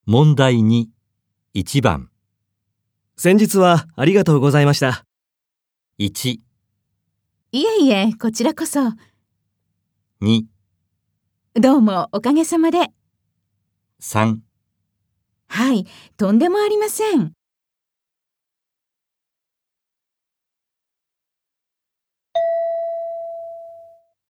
問題2、1番。 先日はありがとうございました。 1、 いえいえ、こちらこそ。 2、 どうもおかげさまで。 3。 はい、とんでもありません。